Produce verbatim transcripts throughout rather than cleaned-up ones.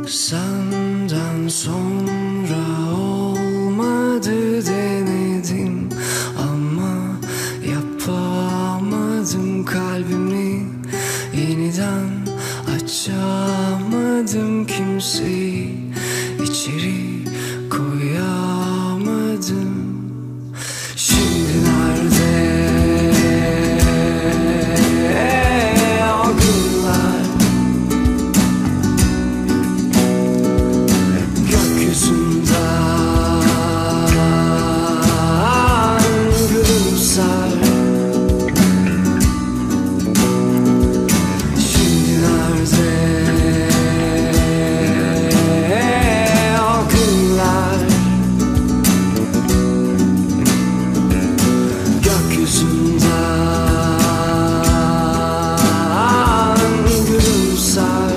Senden sonra olmadı denedim ama yapamadım, kalbimi yeniden açamadım, kimseyi içeri koyamadım. Şimdi nerede o günler? Gökyüzünden gülümser. Şimdi nerede o günler? Gökyüzünden gülümser.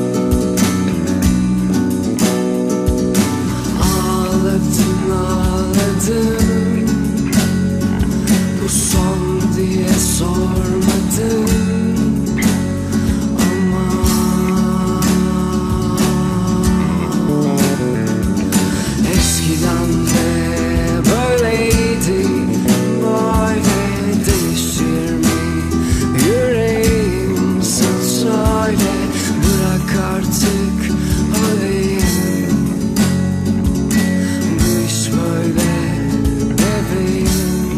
Ağladım ağladım, bu son diye sormadım ama eskiden de böyleydi. Böyle değişir mi yüreğim, sen söyle, bırak artık olayım. Bu iş böyle bebeğim.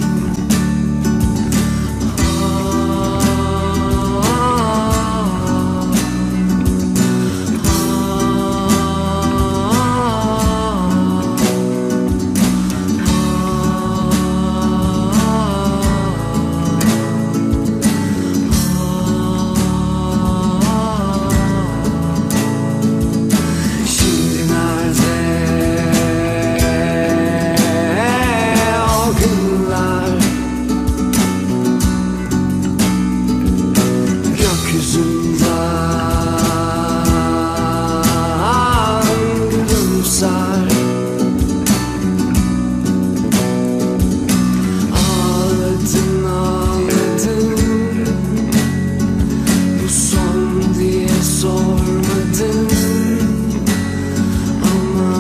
Şimdi nerede o günler? Gökyüzünden gülümser. Ağladın ağladın, bu son diye sormadın ama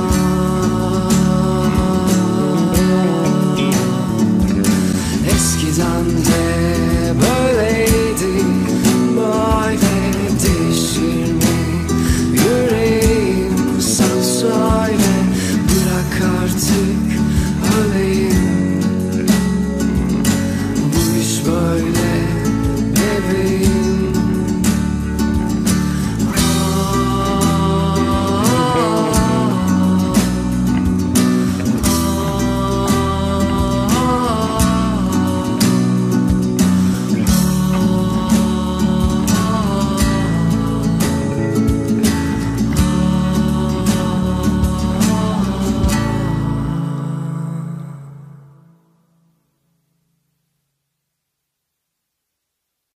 eskiden de